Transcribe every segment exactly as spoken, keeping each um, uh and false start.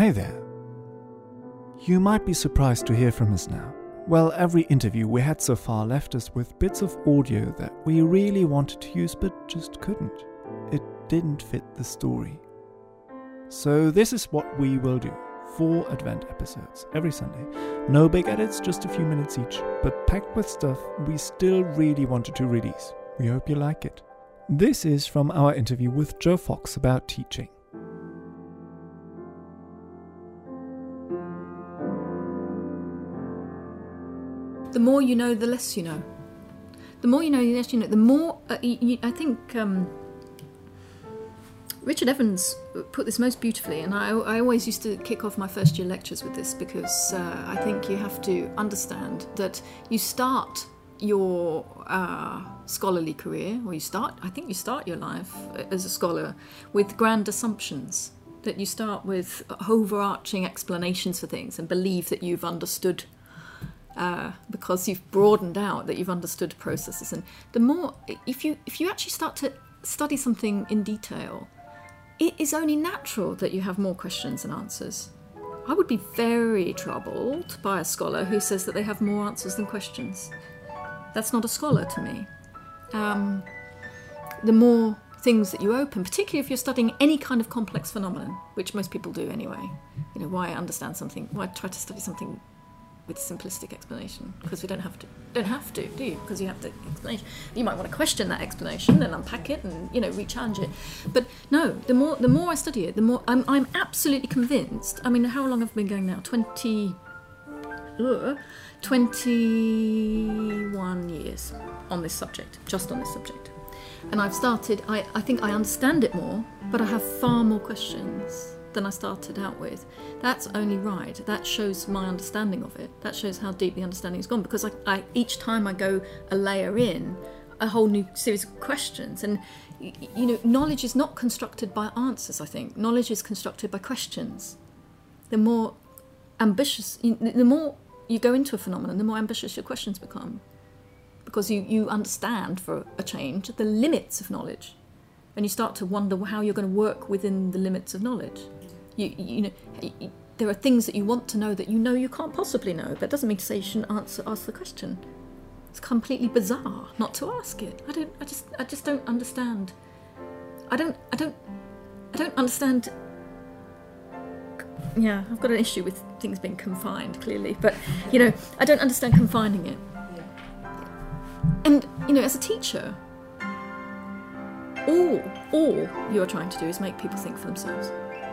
Hey there. You might be surprised to hear from us now. Well, every interview we had so far left us with bits of audio that we really wanted to use but just couldn't. It didn't fit the story. So this is what we will do. Four Advent episodes every Sunday. No big edits, just a few minutes each, but packed with stuff we still really wanted to release. We hope you like it. This is from our interview with Joe Fox about teaching. The more you know, the less you know. The more you know, the less you know. The more, uh, you, you, I think um, Richard Evans put this most beautifully, and I, I always used to kick off my first year lectures with this because uh, I think you have to understand that you start your uh, scholarly career, or you start, I think you start your life as a scholar with grand assumptions, that you start with overarching explanations for things and believe that you've understood Uh, because you've broadened out, that you've understood processes. And the more, if you if you actually start to study something in detail, it is only natural that you have more questions than answers. I would be very troubled by a scholar who says that they have more answers than questions. That's not a scholar to me. Um, the more things that you open, particularly if you're studying any kind of complex phenomenon, which most people do anyway. You know, why understand something, why try to study something with simplistic explanation, because we don't have to don't have to do you because you have the explanation. You might want to question that explanation and unpack it and, you know, re-challenge it, but no, the more the more I study it, the more I'm, I'm absolutely convinced. I mean, how long have I been going now? twenty uh, twenty-one years on this subject, just on this subject, and I've started I, I think I understand it more, but I have far more questions than I started out with. That's only right. That shows my understanding of it. That shows how deep the understanding has gone, because I, I, each time I go a layer in, a whole new series of questions. And, you know, knowledge is not constructed by answers, I think. Knowledge is constructed by questions. The more ambitious, the more you go into a phenomenon, the more ambitious your questions become. Because you, you understand, for a change, the limits of knowledge. And you start to wonder how you're going to work within the limits of knowledge. You, you know, you, there are things that you want to know that you know you can't possibly know. That doesn't mean to say you shouldn't answer, ask the question. It's completely bizarre not to ask it. I don't. I just. I just don't understand. I don't. I don't. I don't understand. Yeah, I've got an issue with things being confined, clearly, but you know, I don't understand confining it. And you know, as a teacher, all all you're trying to do is make people think for themselves.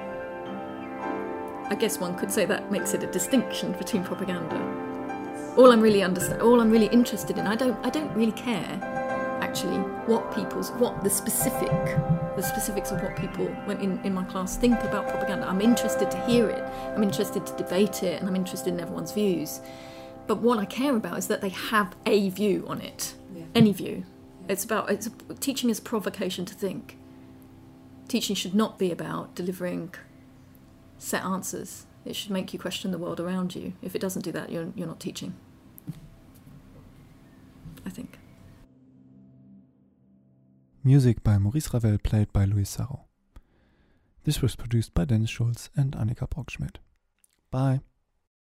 I guess one could say that makes it a distinction between propaganda. All I'm really understand, all I'm really interested in, I don't, I don't really care, actually, what people's, what the specific, the specifics of what people, when in, in my class, think about propaganda. I'm interested to hear it. I'm interested to debate it, and I'm interested in everyone's views. But what I care about is that they have a view on it, yeah. Any view. It's about it's teaching is provocation to think. Teaching should not be about delivering set answers. It should make you question the world around you. If it doesn't do that, you're you're not teaching, I think. Music by Maurice Ravel, played by Louis Sarro. This was produced by Dennis Schulz and Annika Brockschmidt. Bye.